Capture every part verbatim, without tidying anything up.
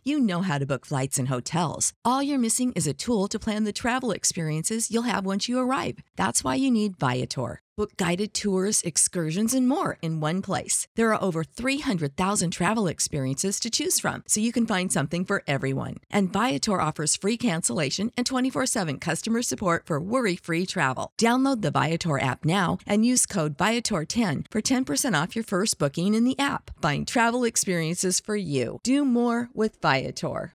You know how to book flights and hotels. All you're missing is a tool to plan the travel experiences you'll have once you arrive. That's why you need Viator. Book guided tours, excursions, and more in one place. There are over three hundred thousand travel experiences to choose from, so you can find something for everyone. And Viator offers free cancellation and twenty-four seven customer support for worry-free travel. Download the Viator app now and use code Viator ten for ten percent off your first booking in the app. Find travel experiences for you. Do more with Viator.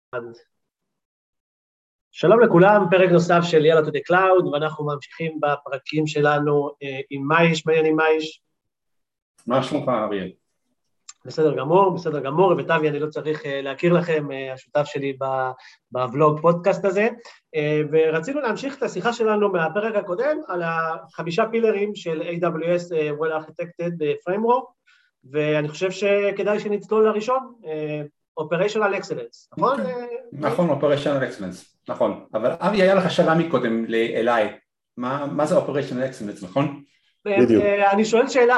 שלום לכולם, פרק נוסף של Yalla to the Cloud, ואנחנו ממשיכים בפרקים שלנו עם מאיש. מעניין עם מאיש? מה שלומך, אריאל? בסדר גמור, בסדר גמור, וטבי, אני לא צריך להכיר לכם, השותף שלי בוולוג פודקאסט הזה, ורצינו להמשיך את השיחה שלנו מהפרק הקודם, על החמישה פילרים של איי דאבליו אס Well Architected Framework, ואני חושב שכדאי שנצלול לראשון, Operational Excellence, נכון? נכון, Operational Excellence, נכון. אבל אבי, היה לך שאלה מקודם אליי, מה זה Operational Excellence, נכון? בדיוק. אני שואל שאלה.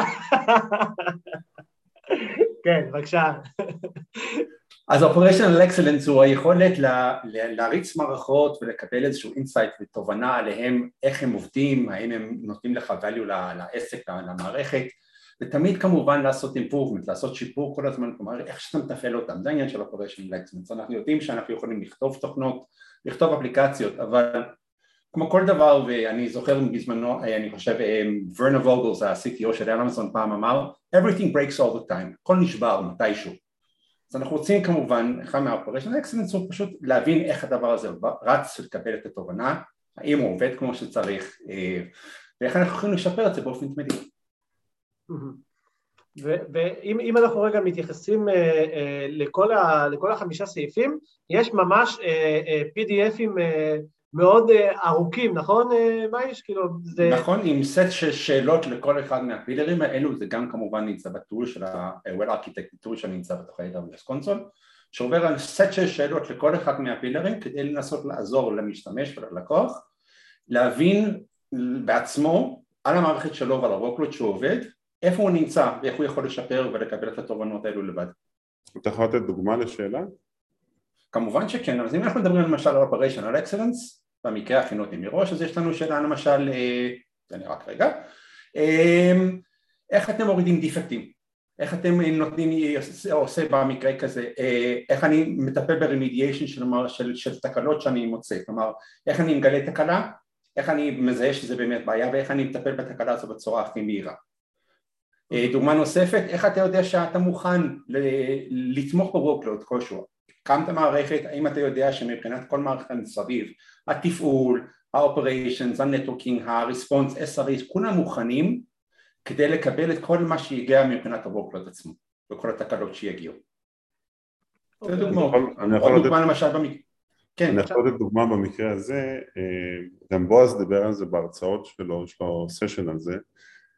כן, בבקשה. אז Operational Excellence הוא היכולת להריץ מערכות ולקבל איזשהו אינסייט ותובנה עליהם, איך הם עובדים, האם הם נותנים לך value לעסק, למערכת, ותמיד כמובן לעשות improvement, לעשות שיפור כל הזמן, כלומר איך שאתה מתפעל אותם, זה העניין של Operational Excellence, אנחנו יודעים שאנחנו יכולים לכתוב תוכנות, לכתוב אפליקציות, אבל כמו כל דבר, ואני זוכר בזמנו, אני חושב, ורנר ווגלס, ה-סי טי או של אמזון פעם אמר, everything breaks all the time, הכל נשבר מתישהו, אז אנחנו רוצים כמובן, אחד מה-Operational Excellence הוא פשוט להבין איך הדבר הזה רץ ולקבל את התובנה, האם הוא עובד כמו שצריך, ואיך אנחנו יכולים לשפר את זה באופן תמידי. ואם אנחנו רגע מתייחסים לכל החמישה סעיפים, יש ממש פי די אפים מאוד ארוכים, נכון מאיש? נכון, עם סט של שאלות לכל אחד מהפילרים האלו, זה גם כמובן נמצא בטול של ה-Well Architected טול שנמצא בתוך ה-איי דאבליו אס קונסול, שעובר על סט של שאלות לכל אחד מהפילרים כדי לנסות לעזור למשתמש וללקוח, להבין בעצמו על המערכת שלו ועל הרוקלוד שהוא עובד, איפה הוא נמצא ואיך הוא יכול לשפר ולקבל את התובנות האלו לבד. אתה יכול לתת דוגמה לשאלה? כמובן שכן, אז אם אנחנו מדברים למשל על Operational Excellence, במקרה הכינותי מראש, אז יש לנו שאלה למשל, זה נראה כרגע, איך אתם מורידים דיפקטים? איך אתם נותנים, עושה במקרה כזה, איך אני מטפל ברמידיאשן של, של, של תקלות שאני מוצא, כלומר, איך אני מגלה תקלה, איך אני מזהה שזה באמת בעיה, ואיך אני מטפל בתקלה הזו בצורה הכי מהירה. דוגמה נוספת, איך אתה יודע שאתה מוכן לתמוך ב-workload כלשהו? קמת מערכת, האם אתה יודע שמבחינת כל מערכת מסביב, התפעול, ה-operations, ה-networking, ה-response, אס אר איס, כולם מוכנים כדי לקבל את כל מה שיגיע מבחינת ה-workload עצמו, וכל התקלות שיגיעו. זה דוגמה, עוד דוגמה למשל במקרה. אני יכול לתת דוגמה במקרה הזה, גם בועז דיבר על זה בהרצאות שלו, יש לו סשן על זה,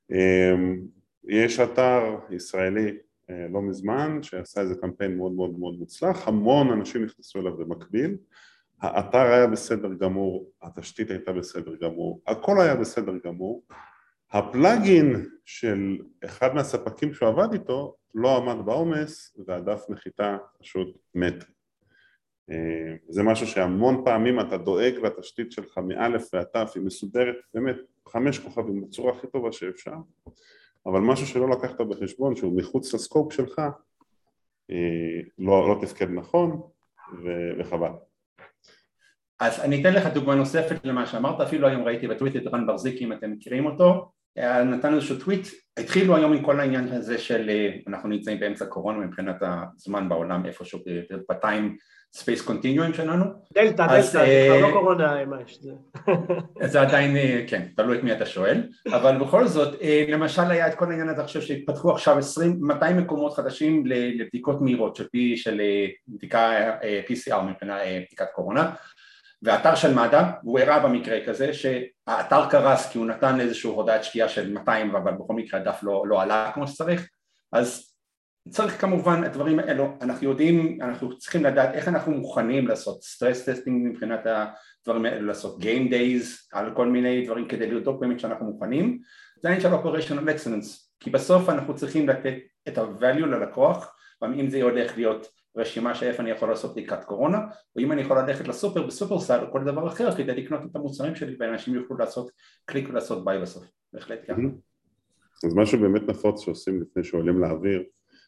יש אתר ישראלי לא מזמן שעשה איזה קמפיין מאוד מאוד מאוד מוצלח, המון אנשים נכנסו אליו במקביל, האתר היה בסדר גמור, התשתית הייתה בסדר גמור, הכל היה בסדר גמור, הפלאגין של אחד מהספקים שהוא עבד איתו לא עמד בעומס והדף נחיתה פשוט מת. זה משהו שהמון פעמים אתה דואג לתשתית שלך מאלף ועטף, היא מסודרת באמת חמש כוכבים בצורה הכי טובה שאפשר, אבל משהו שלא לקחת בחשבון, שהוא מחוץ לסקופ שלך, לא, לא תפקד נכון, וחבל. אז אני אתן לך דוגמה נוספת למה שאמרת, אפילו היום ראיתי בטוויט את רן ברזיקי, אם אתם מכירים אותו, נתן איזשהו טוויט, התחילו היום עם כל העניין הזה של, אנחנו נמצאים באמצע קורונה, מבחינת הזמן בעולם, איפשהו בטיים ספייס קונטיניואים שלנו. דלטה, דלטה, זה לא קורונה, מה יש זה? זה עדיין, כן, תלוי את מי אתה שואל, אבל בכל זאת, למשל היה את כל העניין הזה, עכשיו שהתפתחו עכשיו עשרים, מאתיים מקומות חדשים לבדיקות מהירות, של פי, של בדיקה פי סי אר מבחינת בדיקת קורונה, והאתר של מד"א, הוא הראה במקרה כזה שהאתר קרס כי הוא נתן איזשהו הודעת שקיעה של מאתיים, אבל בכל מקרה הדף לא, לא עלה כמו שצריך, אז צריך כמובן את הדברים האלו, אנחנו יודעים, אנחנו צריכים לדעת איך אנחנו מוכנים לעשות סטרס טסטינג מבחינת הדברים האלו, לעשות game days על כל מיני דברים כדי לבדוק באמת שאנחנו מוכנים, זה העניין של Operational Excellence, כי בסוף אנחנו צריכים לתת את ה-value ללקוח, אם זה הולך להיות רשימה שאיפה אני יכול לעשות בדיקת קורונה, או אם אני יכול ללכת לסופר בסופרסל או כל דבר אחר כדי לקנות את המוצרים שלי ואנשים יוכלו לעשות קליק ולעשות ביי בסוף, בהחלט ככה. אז משהו באמת נפוץ שעושים לפני שעולים לאוויר,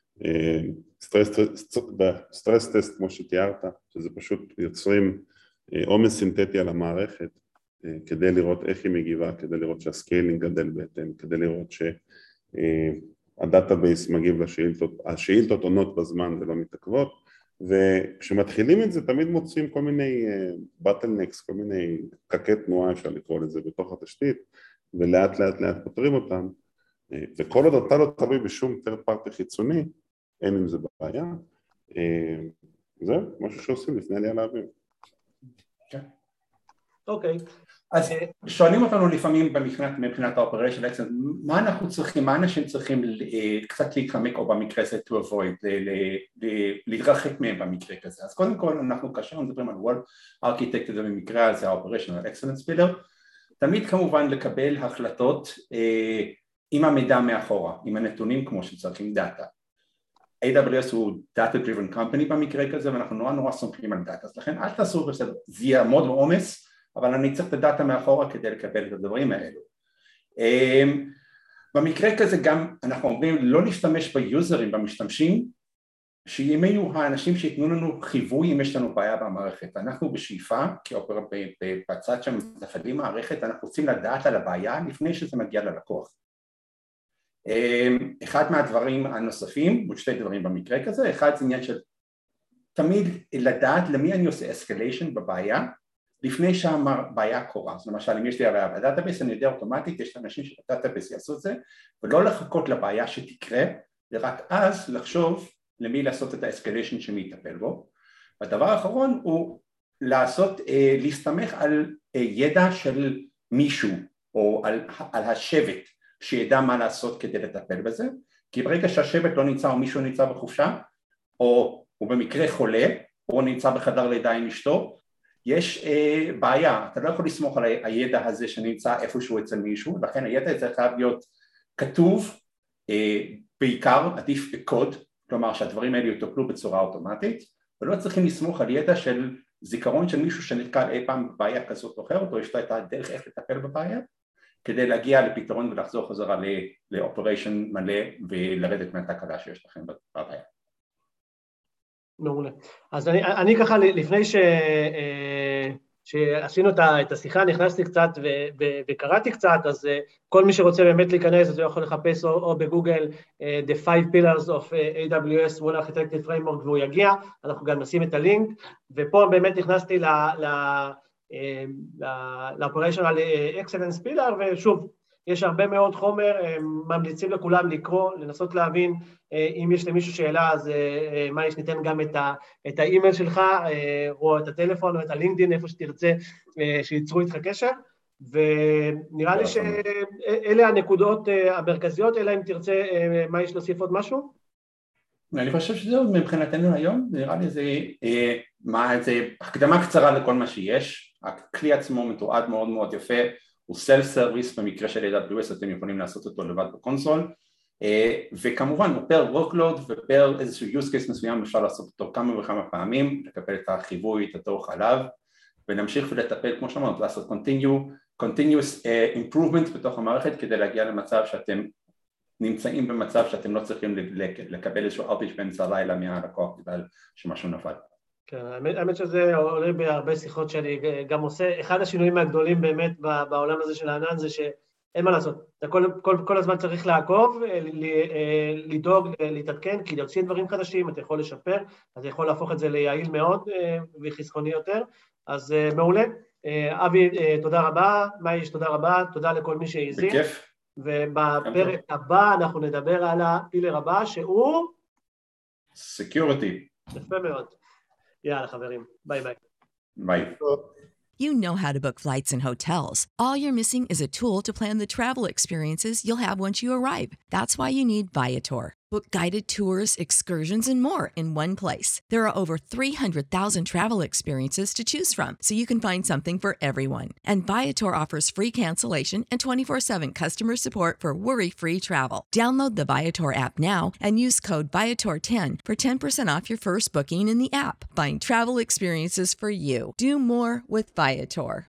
סטרס טסט כמו שתיארת, שזה פשוט יוצרים עומס סינתטי על המערכת כדי לראות איך היא מגיבה, כדי לראות שהסקיילינג גדל בהתאם, כדי לראות שהדאטאבייס מגיב לשאילתות, השאילתות עונות בזמן ולא מתעכבות, וכשמתחילים את זה תמיד מוצאים כל מיני בטלנקס, כל מיני פקקי תנועה אפשר לקרוא לזה בתוך התשתית, ולאט לאט לאט פותרים אותם, וכל עוד אתה לא תלוי בשום third party חיצוני, אין עם זה בעיה, זהו, משהו שעושים לפני עלייה לאוויר. אוקיי. אז שואלים אותנו לפעמים מבחינת ה-Operational Excellence, מה אנחנו צריכים, מה אנשים צריכים קצת להתחמק או במקרה הזה to avoid, להתרחק מהם במקרה כזה. אז קודם כל אנחנו כאשר מדברים על World Architect, זה במקרה הזה ה-Operational Excellence Pillar, תמיד כמובן לקבל החלטות עם המידע מאחורה, עם הנתונים כמו שצריך, עם דאטה. איי דאבליו אס הוא Data Driven Company במקרה כזה, ואנחנו נורא נורא סומכים על דאטה, אז לכן אל תעשו בסדר, זה יעמוד בעומס, אבל אני צריך את הדאטה מאחורה כדי לקבל את הדברים האלו. במקרה כזה גם אנחנו אומרים לא להשתמש ביוזרים, במשתמשים, שאם יהיו האנשים שיתנו לנו חיווי אם יש לנו בעיה במערכת. אנחנו בשאיפה, כי בצד שמתפעלים מערכת, אנחנו רוצים לדעת על הבעיה לפני שזה מגיע ללקוח. אחד מהדברים הנוספים, עוד שתי דברים במקרה כזה, אחד זה עניין של תמיד לדעת למי אני עושה escalation בבעיה, לפני שהבעיה קורה. אז למשל, אם יש לי בעיה בדאטאבייס, אני יודע אוטומטית, יש אנשים שבדאטאבייס יעשו את זה, ולא לחכות לבעיה שתקרה, ורק אז לחשוב למי לעשות את ה-escalation שמי יטפל בו. והדבר האחרון הוא לעשות, להסתמך על ידע של מישהו, או על, על השבט, שידע מה לעשות כדי לטפל בזה, כי ברגע שהשבט לא נמצא או מישהו נמצא בחופשה, או הוא במקרה חולה, או נמצא בחדר לידה עם אשתו, יש אה, בעיה, אתה לא יכול לסמוך על הידע הזה שנמצא איפשהו אצל מישהו, לכן הידע הזה חייב להיות כתוב, אה, בעיקר עדיף בקוד, כלומר שהדברים האלה יטופלו בצורה אוטומטית, ולא צריכים לסמוך על ידע של זיכרון של מישהו שנתקל אי פעם בבעיה כזאת או אחרת, או יש לו את הדרך איך לטפל בבעיה, כדי להגיע לפתרון ולחזור חזרה לאופריישן מלא ולרדת מהתקלה שיש לכם בבעיה. מעולה. אז אני, אני ככה לפני ש, שעשינו את השיחה, נכנסתי קצת ו, ו, וקראתי קצת, אז כל מי שרוצה באמת להיכנס, אז הוא יכול לחפש או, או בגוגל The five pillars of איי דאבליו אס World Architecture Framework והוא יגיע, אנחנו גם נשים את הלינק, ופה באמת נכנסתי ל... ל ל-Operational Excellence Pillar, ושוב, יש הרבה מאוד חומר, ממליצים לכולם לקרוא, לנסות להבין, אם יש למישהו שאלה, אז מה יש, ניתן גם את האימייל שלך, או את הטלפון, או את הלינקדין, איפה שתרצה, שיצרו איתך קשר, ונראה לי שאלה הנקודות המרכזיות, אלא אם תרצה, מה יש להוסיף עוד משהו? אני חושב שזהו מבחינתנו היום, נראה לי זה, מה, זה הקדמה קצרה לכל מה שיש, הכלי עצמו מתועד מאוד מאוד יפה, הוא סלף סרוויס, במקרה של איי דאבליו אס אתם יכולים לעשות אותו לבד בקונסול, וכמובן הוא פר workload ופר איזשהו use case מסוים אפשר לעשות אותו כמה וכמה פעמים, לקבל את החיווי, את התוך עליו, ונמשיך ולטפל כמו שאמרת, לעשות continue, continuous improvement בתוך המערכת כדי להגיע למצב שאתם נמצאים במצב שאתם לא צריכים לקבל איזשהו outage באמצע הלילה מהלקוח בגלל שמשהו נפל. כן, האמת, האמת שזה עולה בהרבה שיחות שאני גם עושה. אחד השינויים הגדולים באמת בעולם הזה של הענן זה שאין מה לעשות. אתה כל, כל, כל הזמן צריך לעקוב, לדאוג, להתעדכן, כי להוציא דברים חדשים, אתה יכול לשפר, אתה יכול להפוך את זה ליעיל מאוד וחסכוני יותר. אז מעולה. אבי, תודה רבה. מאיש, תודה רבה. תודה לכל מי שהזין. בכיף. ובפרק הבא אנחנו נדבר על הפילר הבא שהוא... Security. יפה מאוד. יאללה חברים, ביי ביי. ביי. You know how to book flights and hotels. All you're missing is a tool to plan the travel experiences you'll have once you arrive. That's why you need Viator. Book guided tours, excursions, and more in one place. There are over three hundred thousand travel experiences to choose from, so you can find something for everyone. And Viator offers free cancellation and twenty-four seven customer support for worry-free travel. Download the Viator app now and use code Viator ten for ten percent off your first booking in the app. Find travel experiences for you. Do more with Viator.